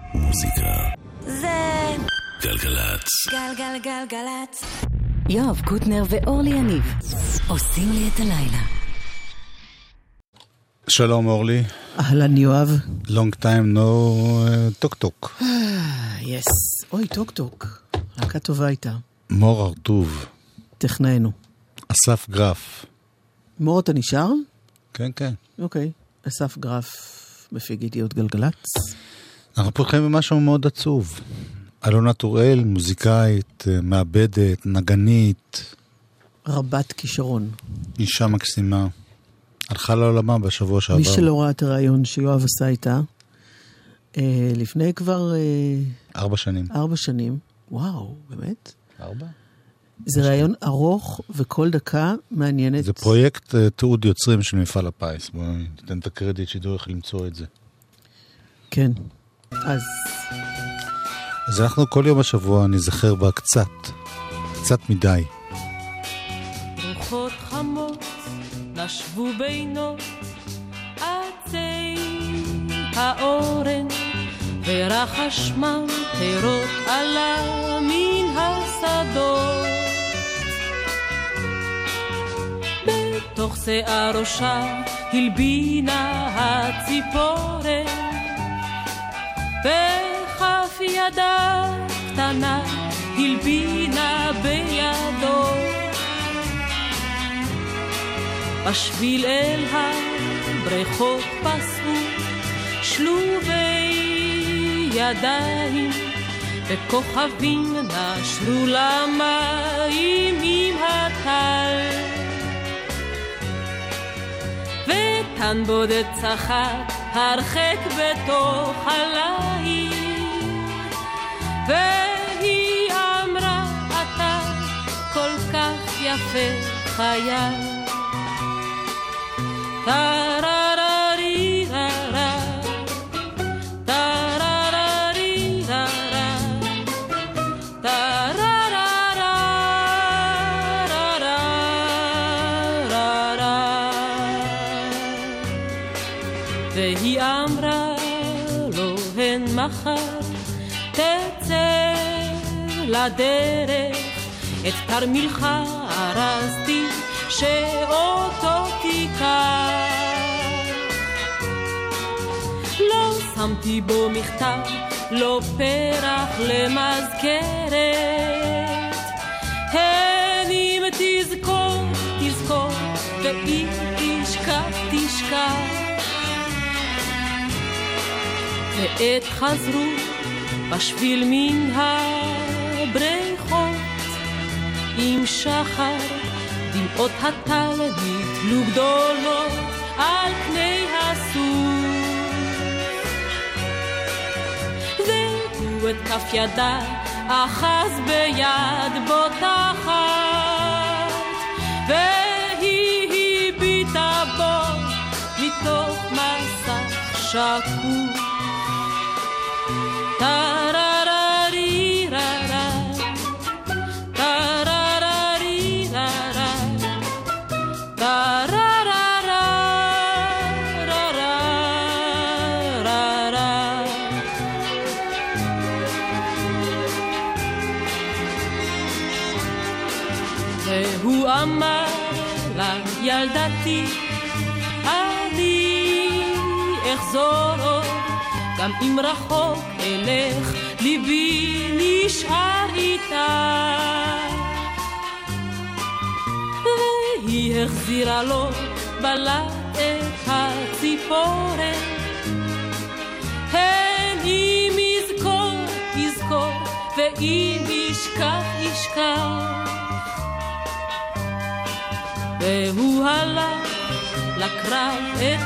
מוזיקה זה גלגלצ. גלגלגלגלצ. יואב קוטנר ואורלי יניב עושים לי את הלילה. שלום אורלי. אהלן יואב. Long time no טוק טוק. יס. אוי, טוק טוק. להקה טובה הייתה. מור ארטוב. טכנאינו. אסף גרף. מור, אתה נשאר? כן, כן. אוקיי. אסף גרף מפיק ידיעות גלגלצ. אנחנו פותחים במשהו מאוד עצוב. אלונה טוראל, מוזיקאית, מעבדת, נגנית. רבת כישרון. אישה מקסימה. הלכה לעולמה בשבוע שעבר. מי שלא ראה את הרעיון שיואב עשה איתה, לפני כבר 4 שנים. 4 שנים. וואו, באמת? 4? זה רעיון ארוך וכל דקה מעניינת. זה פרויקט תיעוד יוצרים של מפעל הפיס. בואו ניתן את הקרדיט שידעו איך למצוא את זה. כן. אז אנחנו כל יום השבוע נזכר בה קצת מדי. רוחות חמות נשבו בינו עצי האורן ורחש ממטרות עלה מן השדות בתוך שיער ראשה הלבינה הציפורן בכף ידה קטנה הלבינה בידו בשביל אל הבריכות פסעו שלובי ידיים וכוכבים נשרו למים עם הטל ותן בודד צחק הרחק בתוך הליל והיא אמרה אתה כל כך יפה חייל טררריררה טררריררה טרררררה והיא אמרה לו הן מחר תצא לדרך את תרמילך ארזתי שאותו תיקח לא שמתי בו מכתב לא פרח למזכרת הן אם תזכור תזכור ואם תשכח תשכח ועת חזרו בשביל מן הבריכות עם שחר דמעות הטל נתלו גדולות על פני הסוף והוא את כף ידה אחז ביד בוטחת והיא הביטה בו מתוך מסך שקוף טררריררה טררריררה טרררררה והוא אמר לה ילדתי אני אחזור עוד גם אם רחוק אלך ליבי נשאר איתה והיא החזירה לו בלט את הציפורן הן אם יזכור יזכור ואם ישכח ישכח והוא הלך לקרב את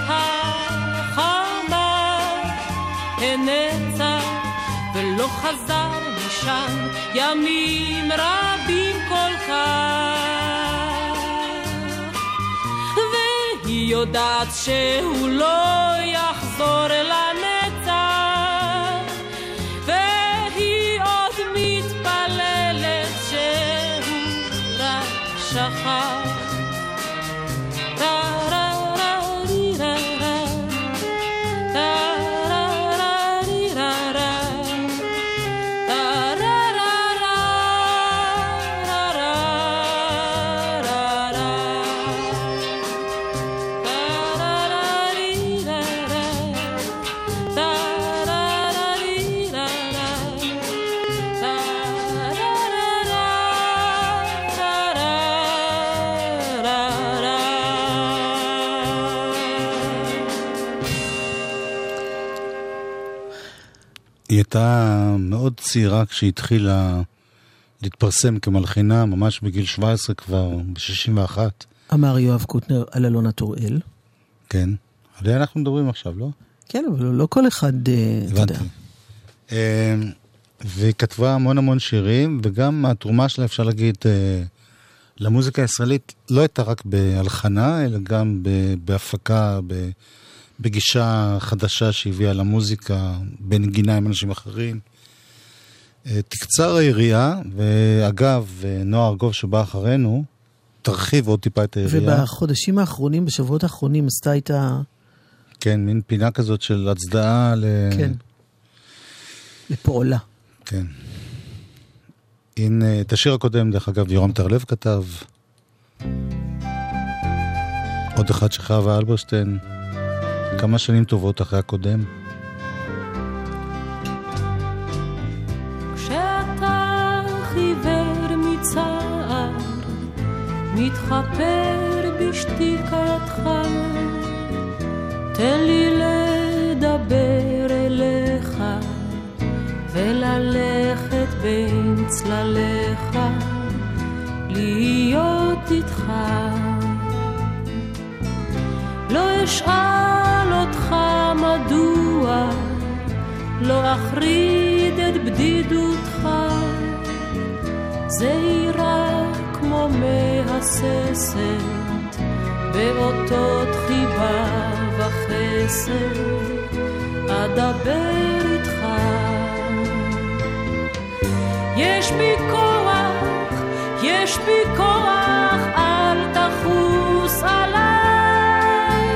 החמה הנצח ולא חזר משם ימים רבים כל כך והיא יודעת שהוא לא יחזור לנצח והיא עוד מתפללת שהוא רק שכח טררריררה טררריררה היא הייתה מאוד צעירה כשהיא התחילה להתפרסם כמלחינה, ממש בגיל 17 כבר, ב-61. אמר יואב קוטנר על אלונה טוראל. כן. עליה אנחנו מדברים עכשיו, לא? כן, אבל לא כל אחד, אתה יודע. והיא כתבה המון שירים, וגם התרומה שלה, אפשר להגיד, למוזיקה הישראלית, לא הייתה רק בהלחנה, אלא גם בהפקה, בגישה חדשה שהביאה למוזיקה, בנגינה עם אנשים אחרים. תקצר העירייה, ואגב, נועה ארגוב שבא אחרינו, תרחיב עוד טיפה את העירייה. ובחודשים האחרונים, בשבועות האחרונים, עשתה איתה... כן, מין פינה כזאת של הצדעה כן. לפועלה. כן. הנה, את השיר הקודם, דרך אגב, יורם תרלב כתב. עוד אחד שחווה אלברשטיין. כמה שנים טובות אחרי הקודם. כשאתה חיוור מצער, מתחפר בשתיקתך, תן לי לדבר אליך, וללכת בין צלליך, להיות איתך. לא אשאל אותך מדוע, לא אחריד את בדידותך, זהירה כמו מהססת, באותות חיבה וחסד, אדבר איתך. יש בי כוח, אל תחוס עליי,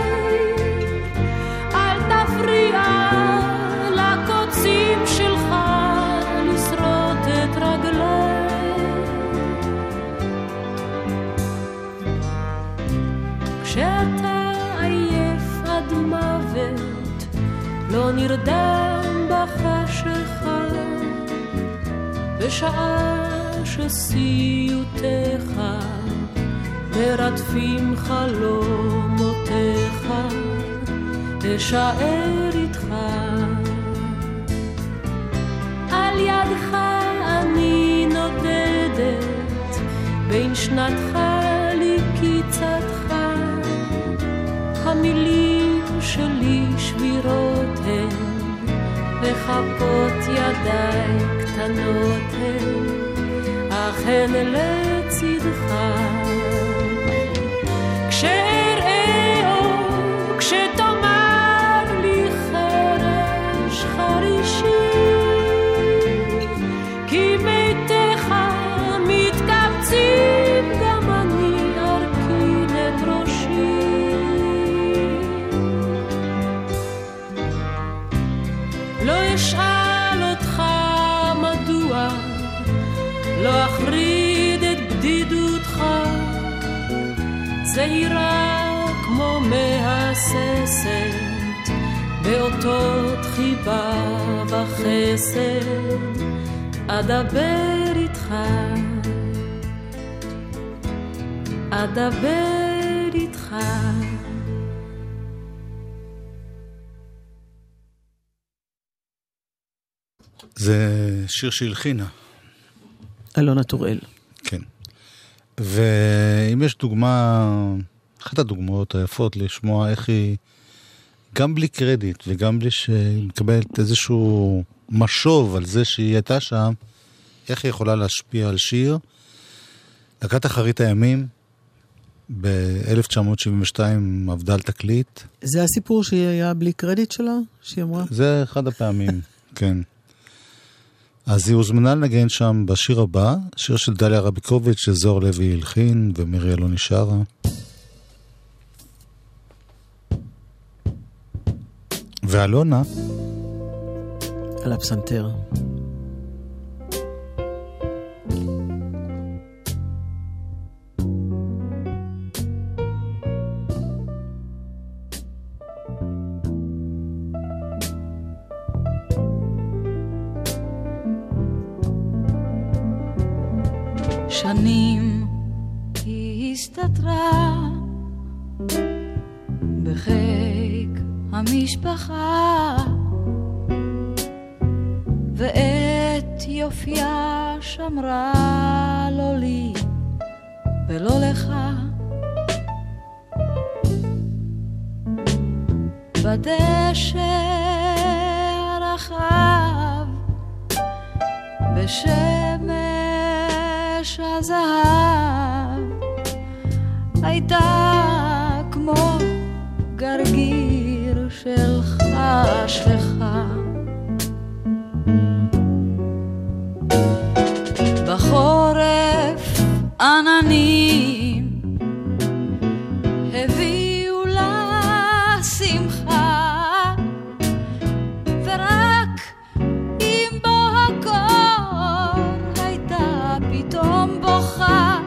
אל תפריע לקוצים שלך לשרוט את רגליי. כשאתה עייף עד מוות, לא נרדם בחשכה, בשעה שסיוטיך מרדפים חלומותיך, אשאר איתך. על ידך אני נודדת, בין שנתך לקיצתך, המילים שלי שבירות הן, וחפות ידיי קטנות הן, אך הן לצדך. כשאראו, כשתאמר לי חרש חרישי, כי מתיך מתקבצים, גם אני ארכין את ראשי. לא אשאל אותך מדוע, לא אחריד את בדידותך, זהירה כמו מהססת, באותות חיבה וחסד, אדבר איתך, אדבר איתך. זה שיר שהלחינה. אלונה טוראל. כן. ואם יש דוגמה, אחת הדוגמאות היפות לשמוע איך היא, גם בלי קרדיט וגם בלי שהיא מקבלת איזשהו משוב על זה שהיא הייתה שם, איך היא יכולה להשפיע על שיר. להקת אחרית הימים, ב-1972 עבדה על תקליט. זה הסיפור שהיא היה בלי קרדיט שלה, שהיא אמרה? זה אחד הפעמים, כן. אז היא הוזמנה לנגן שם בשיר הבא, שיר של דליה רביקוביץ' שזוהר לוי הלחין ומירי אלוני שרה. ואלונה על הפסנתר. שנים היא הסתתרה בחיק המשפחה, ואת יופייה שמרה לא לי ולא לך. בדשא הרחב בשמש הזהב הייתה כמו גרגיר של חשכה. בחורף עננים הביאו לה שמחה, ורק עם בוא הקור הייתה פתאום בוכה.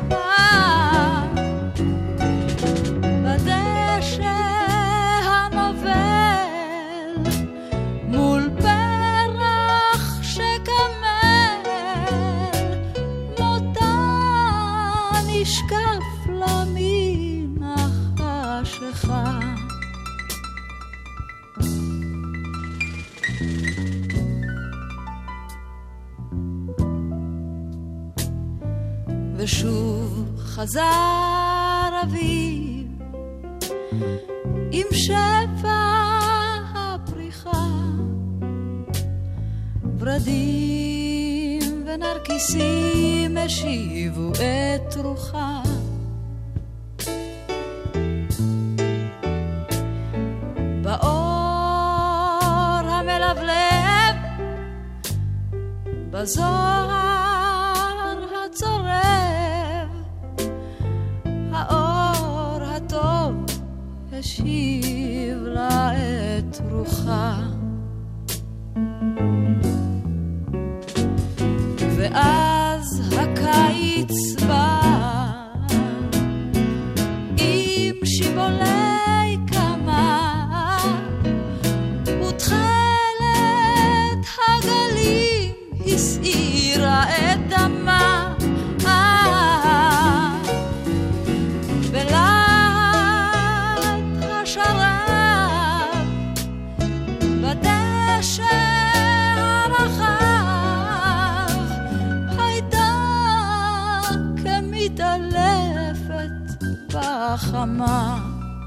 בדשא הנובל מול פרח שקמל מותה נשקף לה מן החשכה. ושוב חזר אביב עם שפע הפריחה, ורדים ונרקיסים השיבו את רוחה. באור המלבלב בזוהר הצורב האור הטוב השיב לה את רוחה. ואז הקיץ בא עם שיבולי קמה ותכלת הגלים הסעירה את דמה. בלהט השרב בדשא הרחב הייתה כמתעלפת בחמה.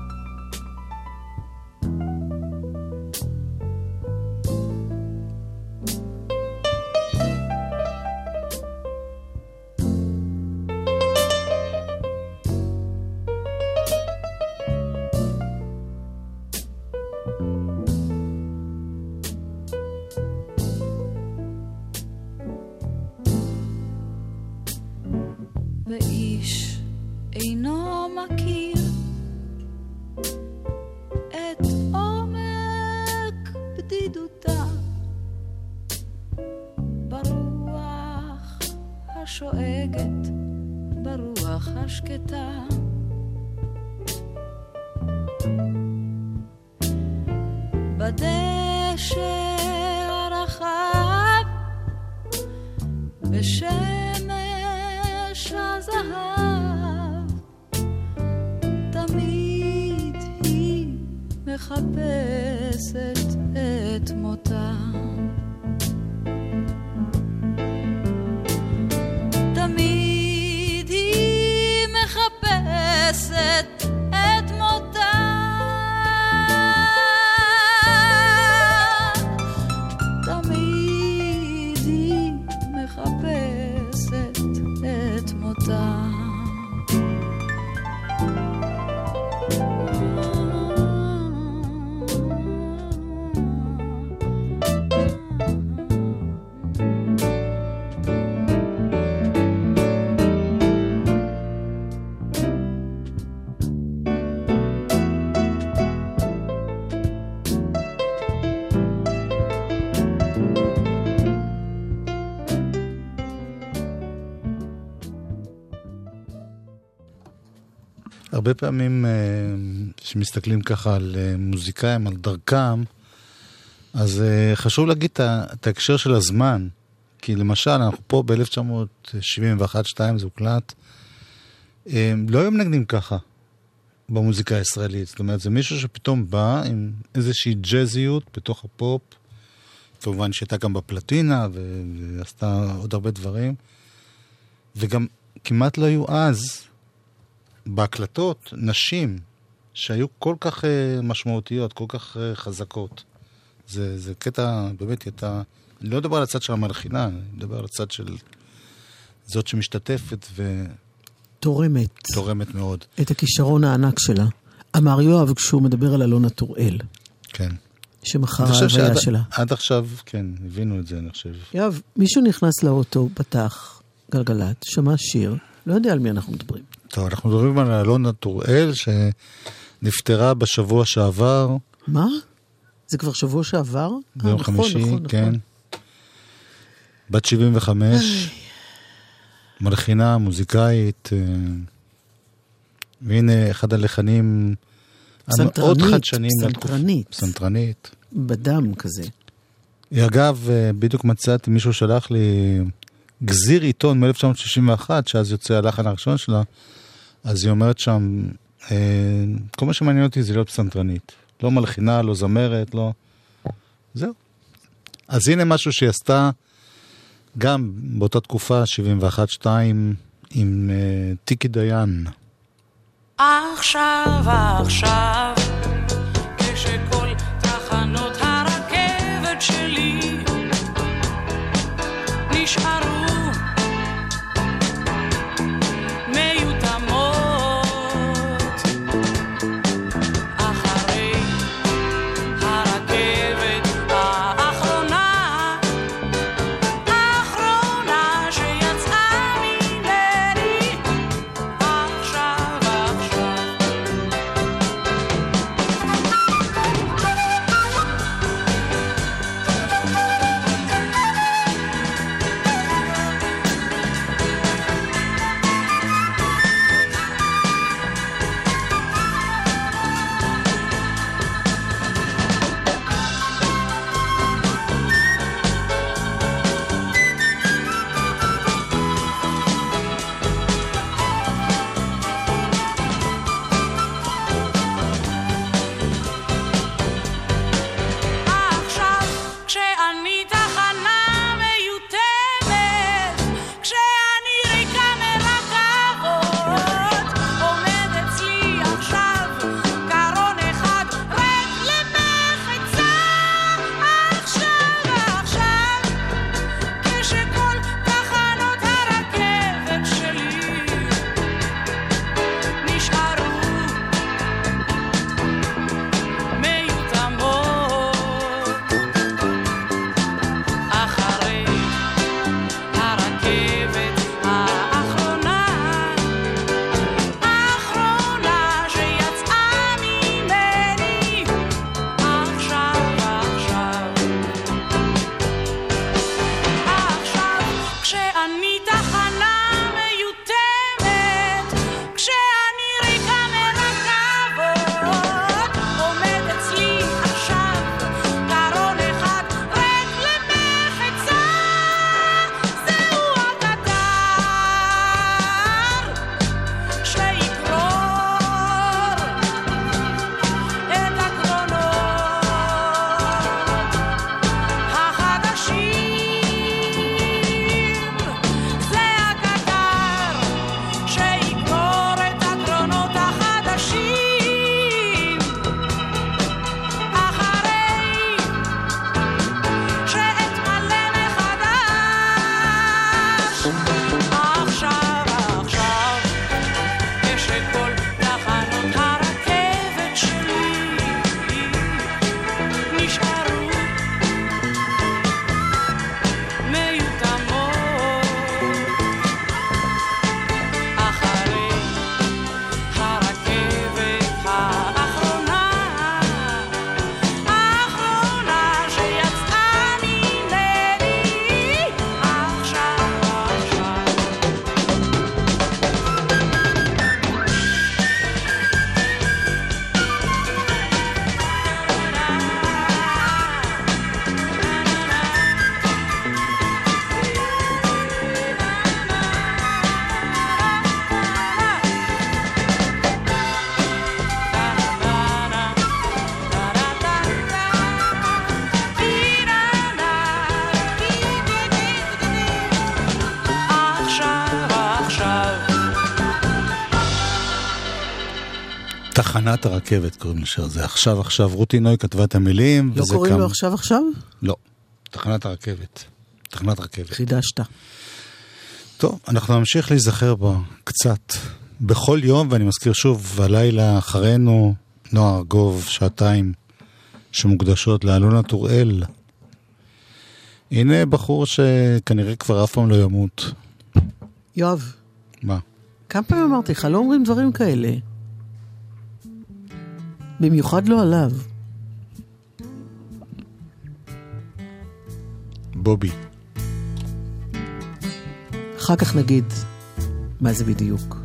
ואיש אינו מכיר את עומק בדידותה ברוח השואגת, ברוח השקטה. בדשא הרחב בשמש הזהב תמיד היא מחפשת את מותה. תמיד היא מחפשת את מותה. תמיד היא מחפשת את מותה. הרבה פעמים שמסתכלים ככה על מוזיקאים, על דרכם, אז חשוב להגיד את ההקשר של הזמן. כי למשל, אנחנו פה ב-1971-2 זה הוקלט, לא היו מנגנים ככה במוזיקה הישראלית. זאת אומרת, זה מישהו שפתאום בא עם איזושהי ג'זיות בתוך הפופ, כמובן שהייתה גם בפלטינה, ועשתה עוד הרבה דברים. וגם כמעט לא היו אז, בהקלטות, נשים, שהיו כל כך משמעותיות, כל כך חזקות. זה קטע, באמת, הייתה... אני לא מדבר על הצד של המלחינה, אני מדבר על הצד של זאת שמשתתפת תורמת מאוד. את הכישרון הענק שלה. אמר יואב כשהוא מדבר על אלונה טוראל. כן. שמחר ההוויה שלה. עד עכשיו, כן, הבינו את זה, אני חושב. יואב, מישהו נכנס לאוטו, פתח גלגלת, שמע שיר, לא יודע על מי אנחנו מדברים. טוב, אנחנו מדברים על אלונה טוראל, שנפטרה בשבוע שעבר. מה? זה כבר שבוע שעבר? ביום חמישי, כן. בת 75, מלחינה, מוזיקאית, והנה אחד הלחנים המאוד חדשנים. סנטרנית. בדם כזה. אגב, בדיוק מצאתי, מישהו שלח לי גזיר עיתון מ-1961, שאז יוצא הלחן הראשון שלה, אז היא אומרת שם, כל מה שמעניין אותי זה להיות סנטרנית. לא מלחינה, לא זמרת, לא... זהו. אז הנה משהו שהיא עשתה גם באותה תקופה, 71-2, עם טיקי דיין. עכשיו, כשכל תחנות הרכבת שלי נשארו מיותמות, אחרי הרכבת האחרונה שיצאה ממני, עכשיו תחנת הרכבת קוראים לשיר הזה. עכשיו, רותי נוי כתבה את המילים. לא קוראים לו עכשיו? לא, תחנת הרכבת. תחנת רכבת. חידשת. טוב, אנחנו נמשיך להיזכר בה קצת. בכל יום, ואני מזכיר שוב, הלילה אחרינו, נועה ארגוב, 2 שמוקדשות לאלונה טוראל. הנה בחור שכנראה כבר אף פעם לא ימות. יואב. מה? כמה פעמים אמרתי לך, לא אומרים דברים כאלה. במיוחד לא עליו. בובי. אחר כך נגיד מה זה בדיוק.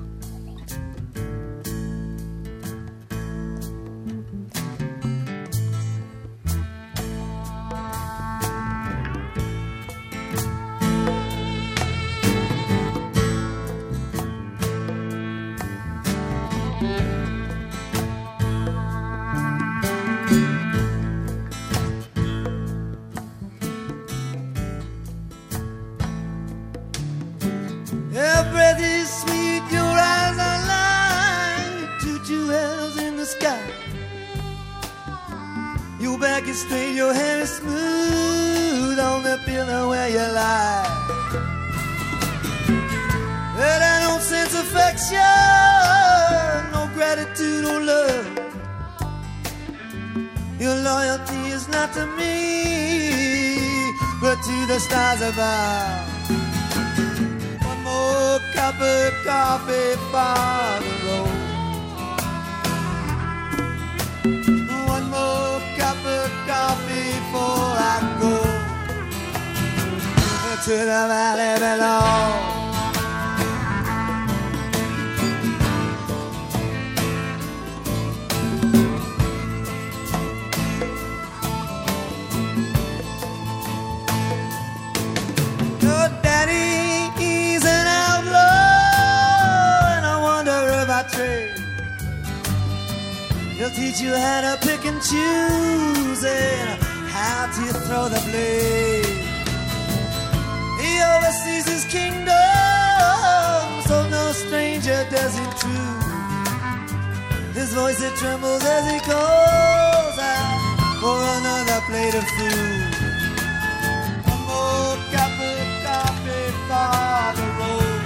He'll teach you how to pick and choose and how to throw the blade. He oversees his kingdom, so no stranger does him true. His voice it trembles as he calls out for another plate of food. One more cup of coffee for the road.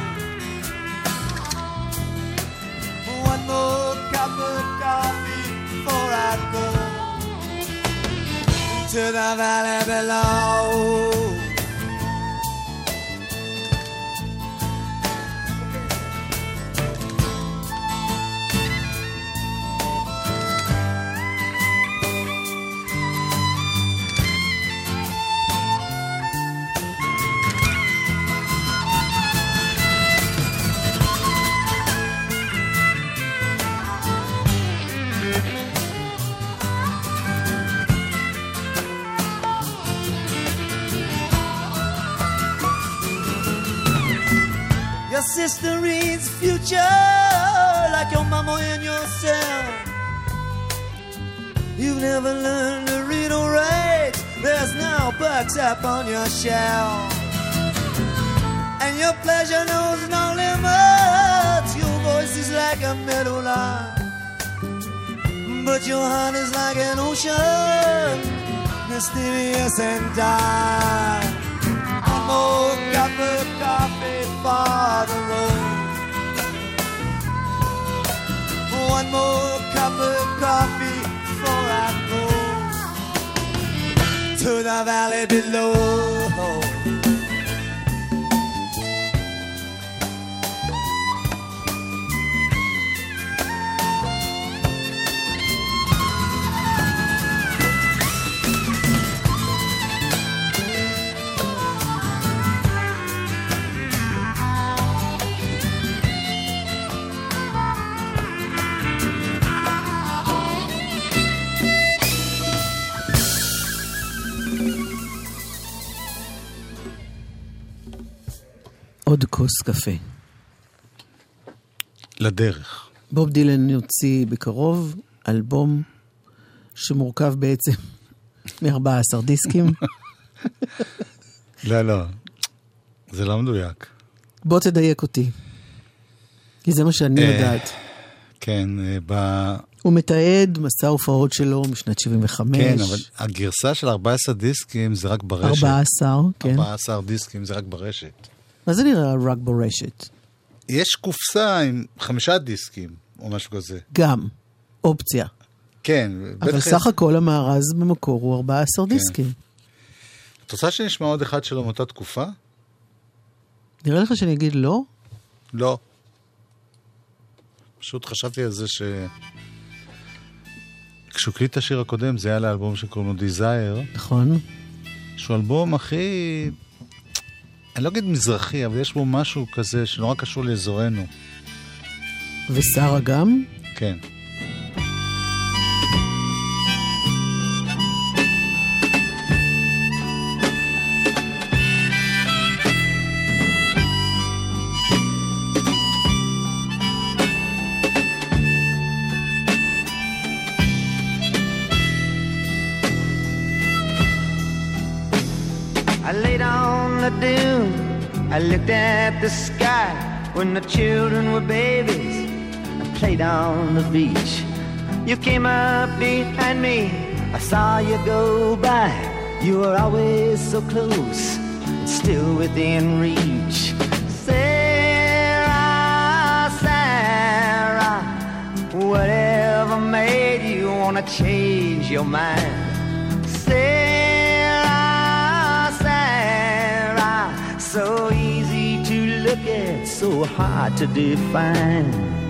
One more cup of coffee before I go to the valley below. Your sister reads future like your mama and yourself. You've never learned to read or write. There's no books up on your shelf. And your pleasure knows no limits. Your voice is like a meadowlark, but your heart is like an ocean, mysterious and dark. One more cup of coffee for the road. One more cup of coffee before I go to the valley below. עוד כוס קפה. לדרך. בוב דילן יוציא בקרוב אלבום שמורכב בעצם מ-14 דיסקים. לא, זה לא מדויק. בוא תדייק אותי, כי זה מה שאני יודעת. כן, הוא מתעד מסע הופעות שלו משנת 75. כן, אבל הגרסה של 14 דיסקים זה רק ברשת. 14, כן. 14 דיסקים זה רק ברשת. מה זה נראה רק ברשת? יש קופסה עם 5 דיסקים, או משהו כזה. גם, אופציה. כן. אבל סך הכל המארז במקור הוא 14 דיסקים. את רוצה שנשמע עוד אחד שלו מאותה תקופה? נראה לך שאני אגיד לא? לא. פשוט חשבתי על זה כשהוא קליט את השיר הקודם, זה היה לאלבום שקוראים לו Desire. נכון. שהוא אלבום הכי... אני לא אגיד מזרחי, אבל יש בו משהו כזה שנורא קשור לאזורנו. ושרה גם? כן. I laid on the dune, I looked at the sky when the children were babies. I played on the beach. You came up behind me, I saw you go by. You were always so close, still within reach. Sarah, Sarah, whatever made you wanna change your mind? So easy to look at, so hard to define.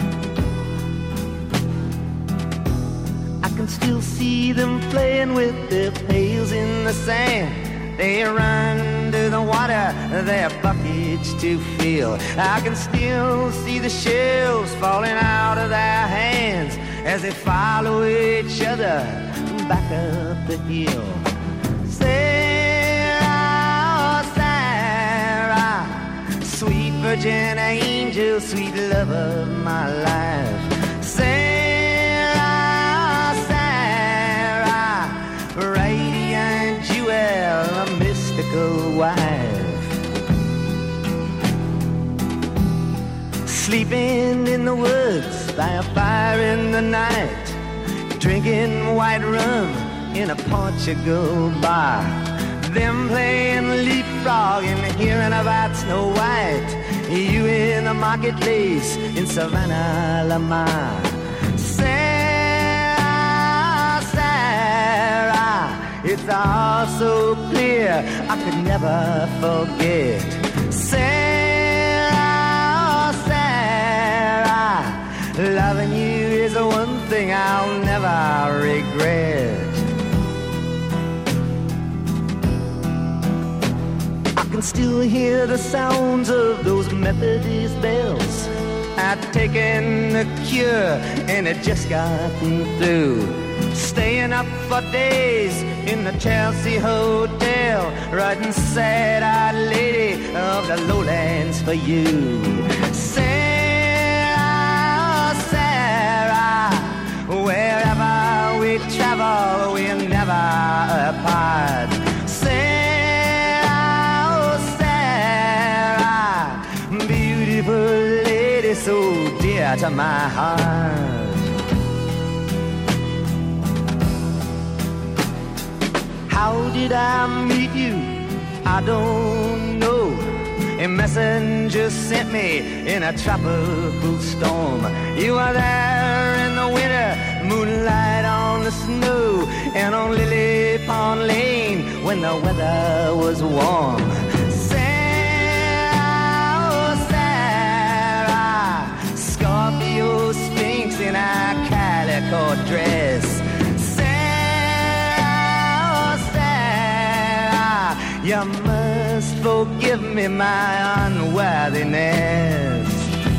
I can still see them playing with their pails in the sand. They run to the water, their buckets to fill. I can still see the shells falling out of their hands as they follow each other back up the hill. Sweet virgin angel, sweet love of my life. Sarah, Sarah, radiant jewel, a mystical wife. Sleeping in the woods by a fire in the night, drinking white rum in a Portugal bar. Them playing leapfrog and hearing about Snow White. You in the marketplace in Savannah, Lamar. Sarah, Sarah, it's all so clear I could never forget. Sarah, Sarah, loving you is the one thing I'll never regret. I can still hear the sounds of those Methodist bells. I'd taken the cure and it just got me through. Staying up for days in the Chelsea Hotel, writing sad-eyed lady of the lowlands for you. Sarah, Sarah, wherever we travel, we're never apart. Lady, so dear to my heart. How did I meet you? I don't know. A messenger sent me in a tropical storm. You were there in the winter, moonlight on the snow, and on Lily Pond Lane when the weather was warm. Scorpio Sphinx in a calico dress. Sarah, Sarah, you must forgive me my unworthiness.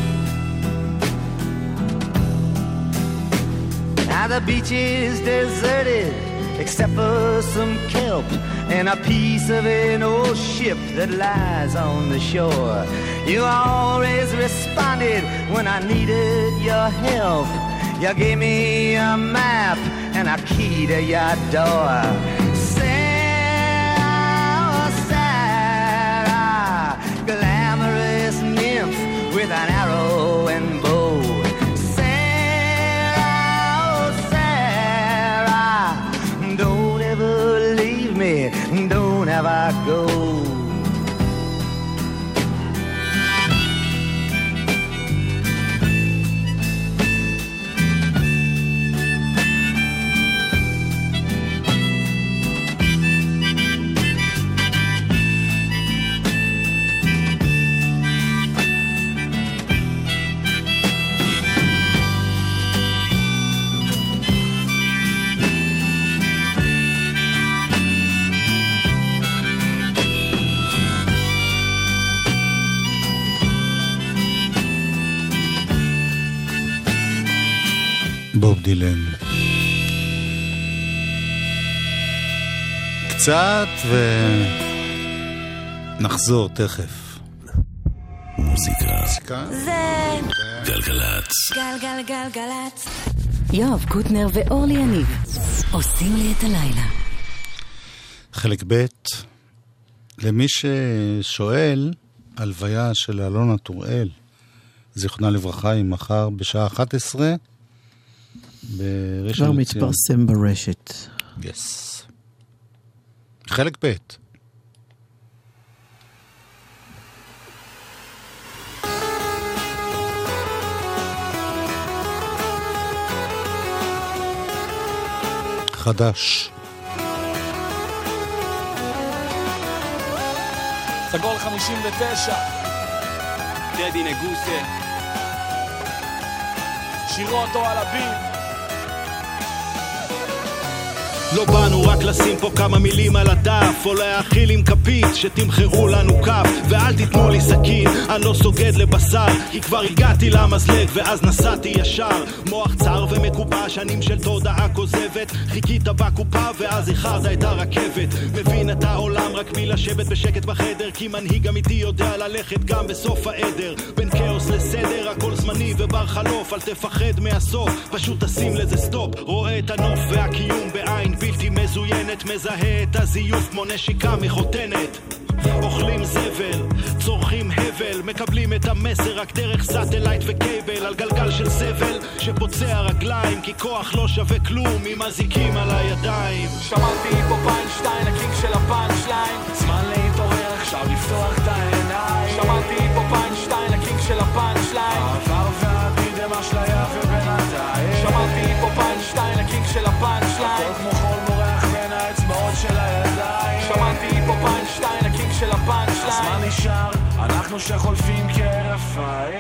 Now the beach is deserted except for some kelp and a piece of an old ship that lies on the shore. You always responded when I needed your help. You gave me a map and a key to your door. Sarah, Sarah, glamorous nymph with an arrow and bow. Sarah, בוב דילן. קצת ונחזור תכף. מוזיקה. זה גלגלצ. גלגלגלגלצ. יואב קוטנר ואורלי יניב עושים לי את הלילה. חלק ב' למי ששואל, הלוויה של אלונה טוראל, זיכרונה לברכה, היא מחר בשעה 11 בראשון כבר לציון. מתפרסם ברשת. יס. חלק ב' חדש. סגול 59, דדי נגוסה, שירו אותו על הביט. לא באנו רק לשים פה כמה מילים על הדף, או להאכיל עם כפית שתמחרו לנו כף, ואל תיתנו לי סכין, אני לא סוגד לבשר, כי כבר הגעתי למזלג ואז נסעתי ישר. מוח צר ומקופה, שנים של תודעה כוזבת, חיכית בקופה ואז איחרת את הרכבת. מבין את העולם רק מלשבת בשקט בחדר, כי מנהיג אמיתי יודע ללכת גם בסוף העדר. בין כאוס לסדר, הכל זמני ובר חלוף, אל תפחד מהסוף, פשוט תשים לזה סטופ. רואה את הנוף והקיום בעין בלתי מזוינת, מזהה את הזיוף כמו נשיקה מחותנת. אוכלים זבל, צורכים הבל, מקבלים את המסר רק דרך סטלייט וקייבל, על גלגל של סבל שפוצע רגליים, כי כוח לא שווה כלום אם מזיקים על הידיים. שמעתי פה פיינשטיין, הקינג של הפאנצ'ליין, זמן להתעורר, עכשיו לפתוח את העיניים. שמעתי פה פיינשטיין, הקינג של הפאנצ'ליין, העבר והעתיד הם אשליה ובינתיים. שמעתי פה פיינשטיין, הקינג של הפאנצ'ליין, כמו חול מורח בין האצבעות של הידיים. שמעתי פה פיינשטיין, הקינג של הפאנצ'ליין. הזמן נשאר, אנחנו שחולפים כהרף עין.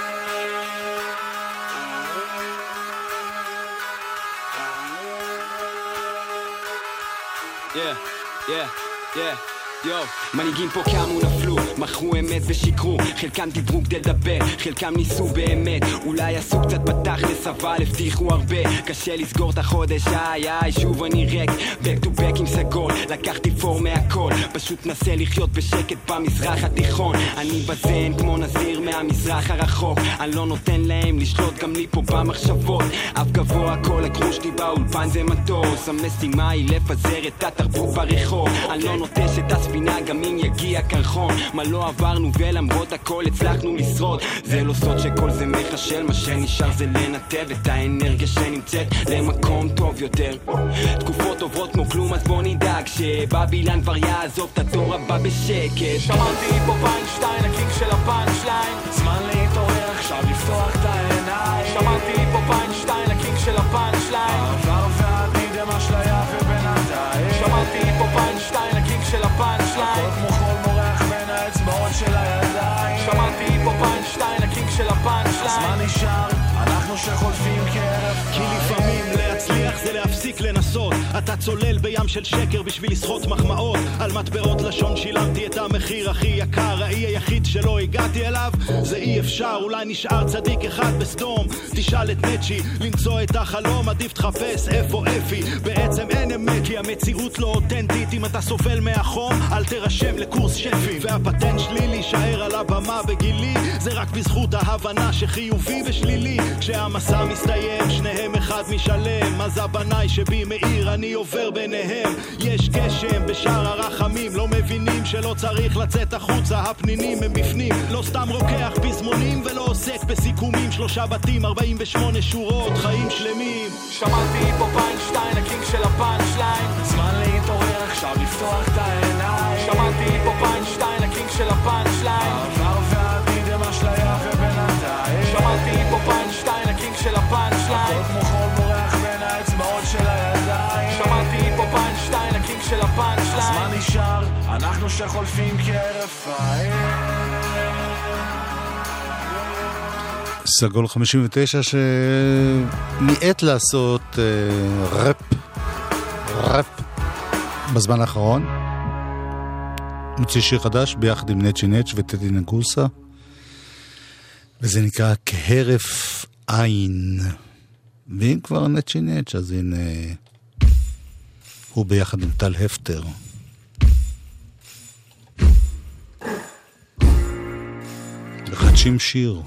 מנהיגים פה קמו נפלו, מכרו אמת ושיקרו, חלקם דיברו כדי לדבר, חלקם ניסו באמת, אולי עשו קצת בתכלס אבל הבטיחו הרבה. קשה לסגור את החודש, שוב אני ריק, back to back עם סגול, לקחתי פור מהכל, פשוט נסה לחיות בשקט במזרח התיכון. אני בזן כמו נזיר מהמזרח הרחוק, אני לא נותן להם לשלוט גם לי פה במחשבות. אף גבוה כל הגרוש לי באולפן זה מטוס, המשימה היא לפזר את התרבות ברחוב, אני לא נוטש את הספינה גם אם יגיע קרחון. מה לא עברנו ולמרות הכל הצלחנו לשרוד, זה לא סוד שכל זה מחשל, מה שנשאר זה לנתב את האנרגיה שנמצאת למקום טוב יותר. תקופות עוברות כמו כלום אז בוא נדאג שבבילן כבר יעזוב את הדור הבא בשקט. שמעתי פה פיינשטיין, הקינג של הפאנצ'ליין, זמן להתעורר, עכשיו לפתוח את העיניים. שמעתי פה פיינשטיין, הקינג של הפאנצ'ליין, העבר והעתיד הם אשליה ובינתיים. שמעתי פה פיינשטיין, הקינג של הפאנצ'ליין, כמו חול מורח בין האצבעות של הידיים. שמעתי פה פיינשטיין, הקינג של הפאנצ'ליין. הזמן נשאר, אנחנו שחולפים כהרף עין. כי לפעמים להצליח זה להפסיק לנסות, אתה צולל בים של שקר בשביל לסחוט מחמאות, על מטבעות לשון שילמתי את המחיר הכי יקר. האי היחיד שלא הגעתי אליו זה אי אפשר, אולי נשאר צדיק אחד בסדום, תשאל את נצ'י למצוא את החלום, עדיף תחפש איפה אפי, בעצם אין אמת כי המציאות לא אותנטית. אם אתה סובל מהחום אל תרשם לקורס שפים, והפטנט שלי להישאר על הבמה בגילי זה רק בזכות ההבנה שחיובי ושלילי. כשהמסע מסתיים שניהם אחד משלם, אז הבנאי שבי מאיר אני עובר ביניהם. יש גשם בשער הרחמים, לא מבינים שלא צריך לצאת החוצה, הפנינים הם בפנים, לא סתם רוקח פזמונים ולא עוסק בסיכומים. 3 בתים 48 שורות חיים שלמים. שמעתי פה פיינשטיין, הקינג של הפאנצ'ליין, זמן להתעורר, עכשיו לפתוח את העיניים. שמעתי פה פיינשטיין, הקינג של הפאנצ'ליין, העבר והעתיד הם אשליה ובינתיים. שמעתי פה פיינשטיין, הקינג של הפאנצ'ליין, כמו חול מורח בין האצבעות של הידיים. שמעתי פה פיינשטיין, הקינג של הפאנצ'ליין. הזמן נשאר, אנחנו שחולפים כהרף עין. סגול 59 שניעת לעשות ראפ בזמן האחרון, מוציא שיר חדש ביחד עם נצ'י נצ' וטדי נגוסה, וזה נקרא כהרף עין. ואם כבר נצ'י נץ', אז הנה הוא ביחד עם טל הפטר. מחדשים שיר.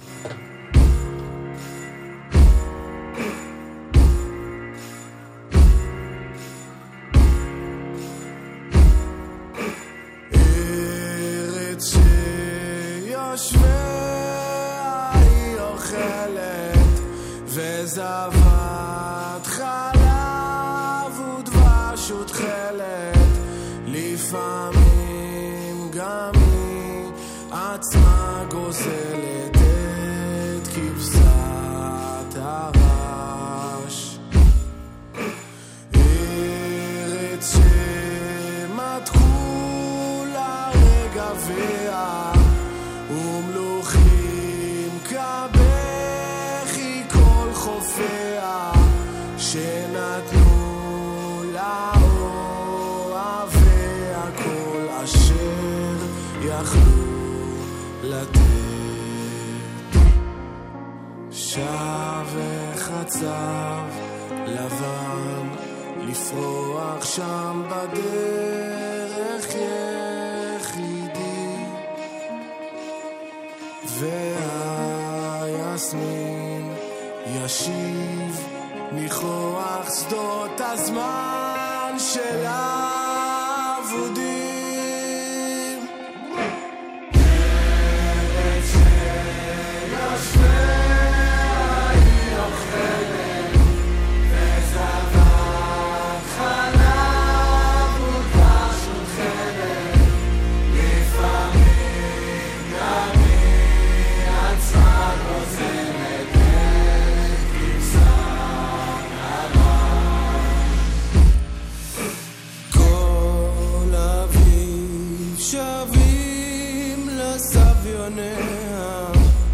זבת חלב ודבש ותכלת, לפעמים גם היא עצמה גוזלת את כבשת הרש. ארץ שמתחו לה רגביה ומלוכים כבכי כל חופיה, שנתנו לה אוהביה כל אשר יכלו לתת. שב וחצב לבן לפרוח שם בדרך יחידי, והיסמין ישיב מכוח שדות הזמן של האבודים. ארץ שיושביה היא אוכלת, וזבת חלב ודבש ותכלת, לפעמים גם היא עצמה גוזלת את כבשת הרש. כל אביב שבים לסביוניה,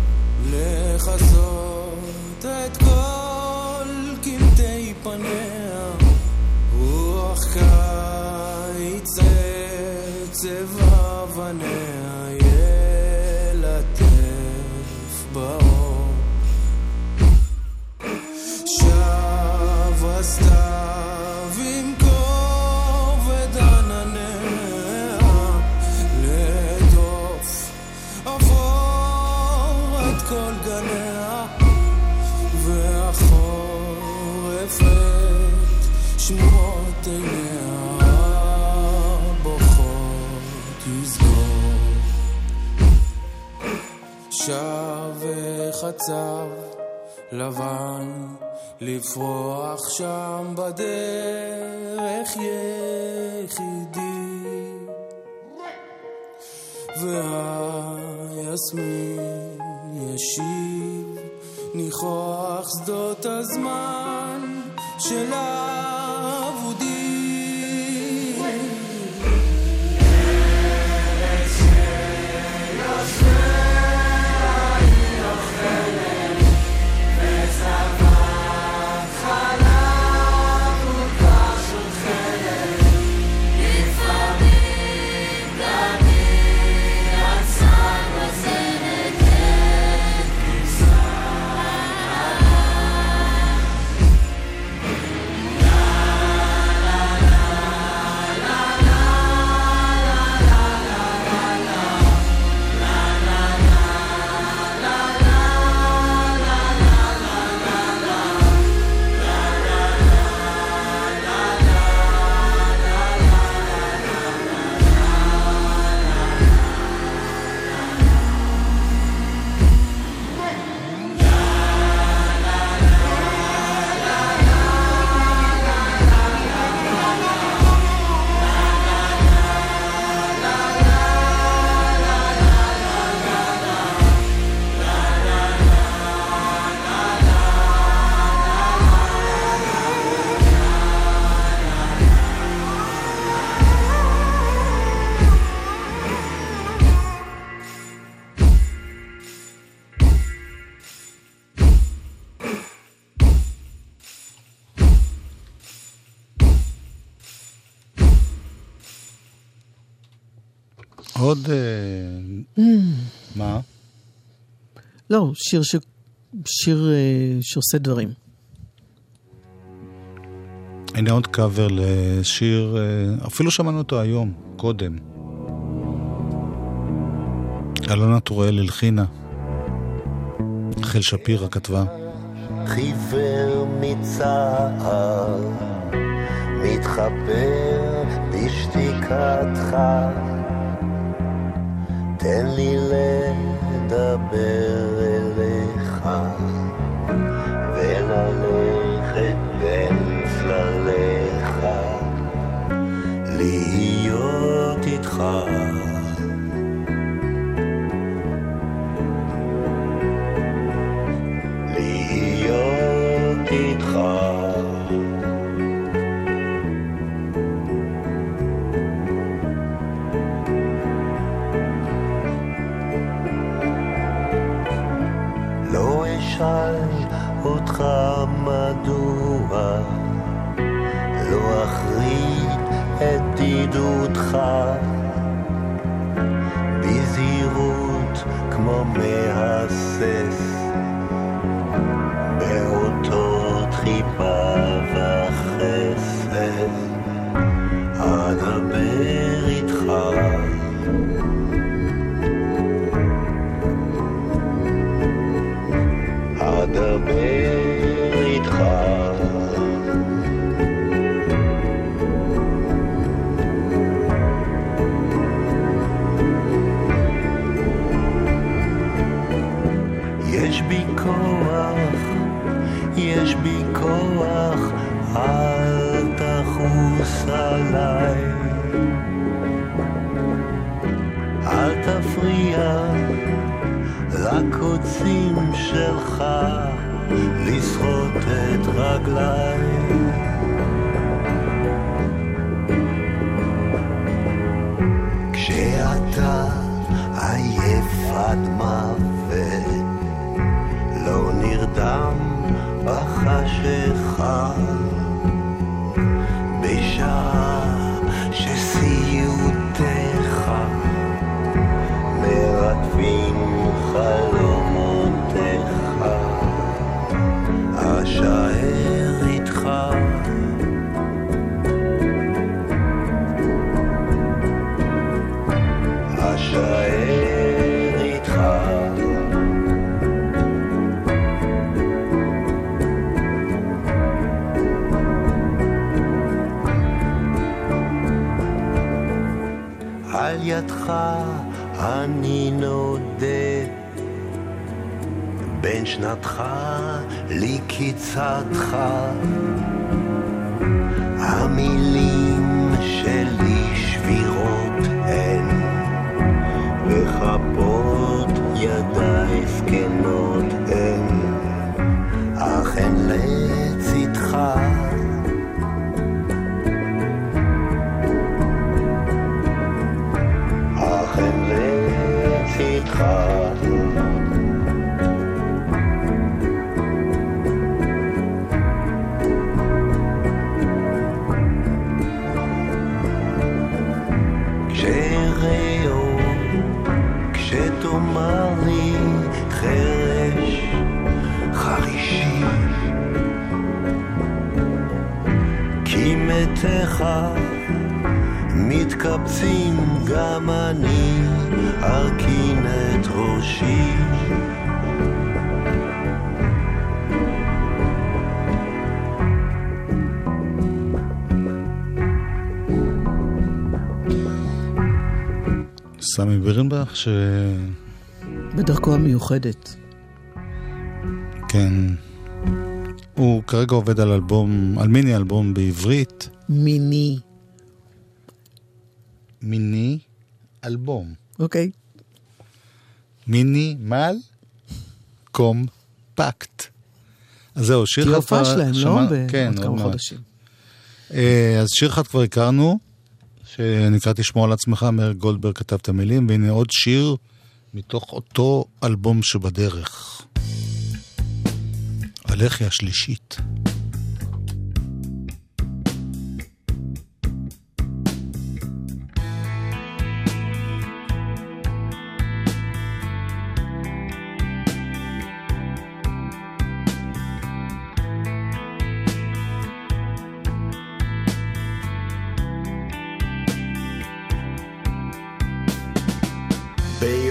לחזות את כל קמטי פניה, רוח קיץ צבע אבניה ילטף באור. שב הסתיו עם כובד ענניה, לדוף עבור את כל גניה, והחורף את שמות עיניה בוכות יסגור. שב וחצב לבן לפרוח שם בדרך יחידי, והיסמין ישיב ניחוח שדות הזמן של האבודים. ארץ שיושביה היא אוכלת, וזבת חלב ודבש ותכלת, לפעמים גם היא עצמה גוזלת את כבשת עוד... מה? לא, שיר שעושה דברים. הנה עוד קאבר לשיר, אפילו שמענו אותו היום, קודם. אלונה טוראל הלחינה. חל שפירא כתבה. חיוור מצער, מתחבר בשתיקתך, תן לי לדבר אליך וללכת בין צלליך, להיות איתך. להיות איתך. לא אשאל אותך מדוע, לא אחריד את דידותך, בזהירות כמו מהסס, באותות חיבה וחסד, אדבר איתך. אדבר איתך. יש בי כוח, יש בי כוח, אל תחוס עליי, אל תפריע לקוצים שלך לשחות את רגליי. כשאתה עייף עד מוות, לא נרדם בחשיכה, בשעה שסיוטיך מרדפים חלומותיך, אשאר איתך. אשאר איתך. על ידך אני נודד, בין שנתך לקיצתך, המילים שלי שבירות הן, וכפות ידיי זקנות הן, אך הן לצדך. אך הן לצדך. כשאראו, כשתאמר לי חרש חרישי, כי מתך מתקבצים גם אני ארכין את ראשי. סמי בירנבך ש... בדרכו המיוחדת. כן. הוא כרגע עובד על אלבום, על מיני אלבום בעברית. מיני אלבום. אוקיי. מינימל קומפקט. אז זהו, שיר אחד כבר... שלהם, לא? כן, עוד כמה חודשים. אז שיר אחד כבר הכרנו, שנקרא תשמור על עצמך, מאיר גולדברג כתב את המילים, והנה עוד שיר מתוך אותו אלבום שבדרך. הלחי השלישית.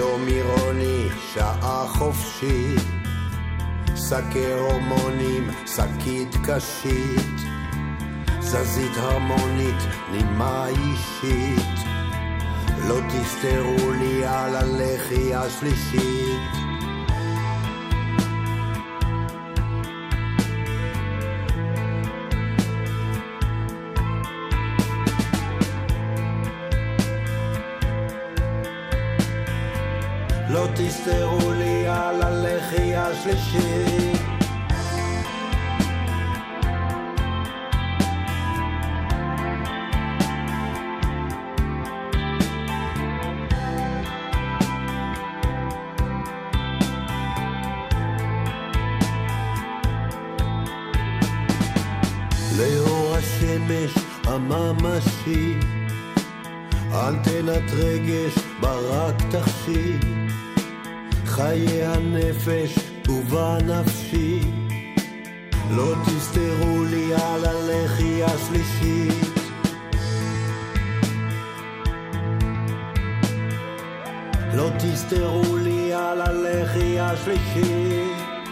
יום עירוני, שעה חופשית, שקי הורמונים, שקית קשית, זזית הרמונית, נימה אישית, לא תסתרו לי על הלחי השלישית. לא תסתרו לי על הלחי השלישית. לאור השמש הממשי, אנטנת רגש ברק תחשי, חיי הנפש ובנפשי, לא תסתרו לי על הלחי השלישית. לא תסתרו לי על הלחי השלישית.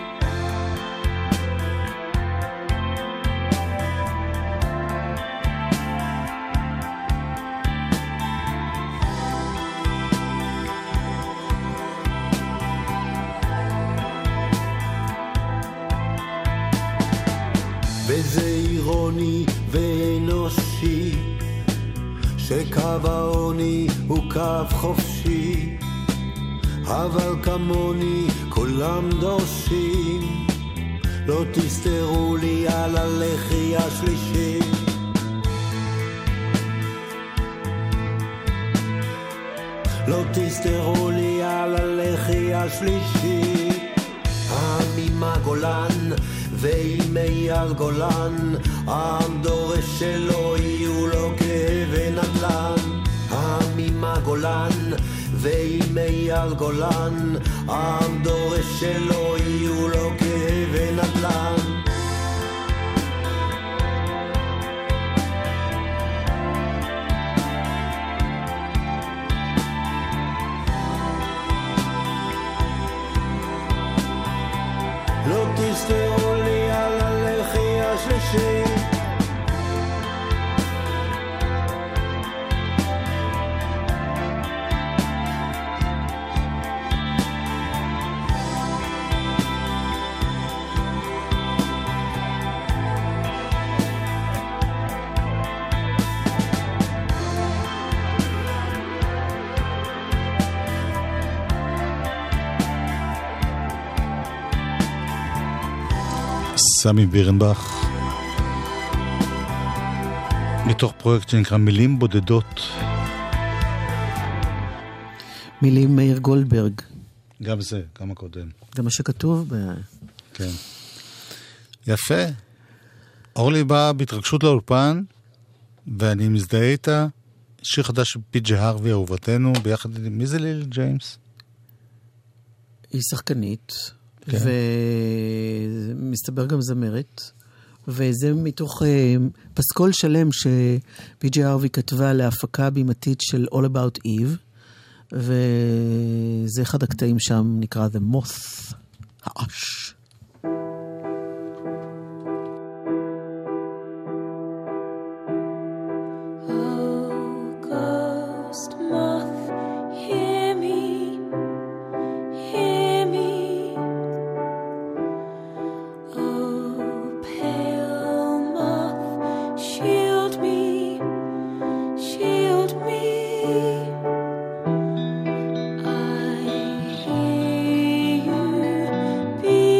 וזה אירוני ואנושי, שקו העוני הוא קו חופשי, אבל כמוני כולם דורשים, לא תסתרו לי על הלחי השלישי. לא תסתרו לי על הלחי השלישי. העם הגולן ואימי על גולן, העם דורש שלא יהיו לו כאבי נדל"ן. העם הגולן ואימי על גולן, העם דורש שלא יהיו לו כאבי נדל"ן. לא תסתרו לי על הלחי השלישי. סמי בירנבך, מתוך פרויקט שנקרא מילים בודדות. מילים מאיר גולדברג. גם זה, גם הקודם. זה מה שכתוב כן. יפה. אורלי באה בהתרגשות לאולפן, ואני מזדהה איתה. שיר חדש של פי.ג'י הרווי, אהובתנו, ביחד עם מי זה ליל ג'יימס? היא שחקנית. כן. ומסתבר גם זמרת, וזה מתוך פסקול שלם שפי.ג'י הרווי כתבה להפקה בימתית של All About Eve, וזה אחד הקטעים שם נקרא The Moth, האש. Be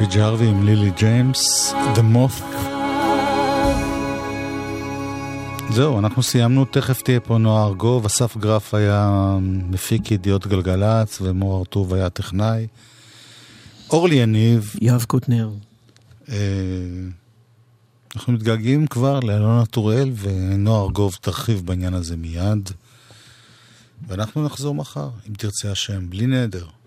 פי.ג'י הארווי עם לילי ג'יימס, The Moth. זהו, אנחנו סיימנו, תכף תהיה פה נועה ארגוב, אסף גרף היה מפיק ידיעות גלגלץ, ומור ארטוב היה טכנאי. אורלי יניב. יואב קוטנר. אנחנו מתגעגעים כבר לאלונה טוראל, ונועה ארגוב תרחיב בעניין הזה מיד. ואנחנו נחזור מחר, אם תרצה השם, בלי נדר.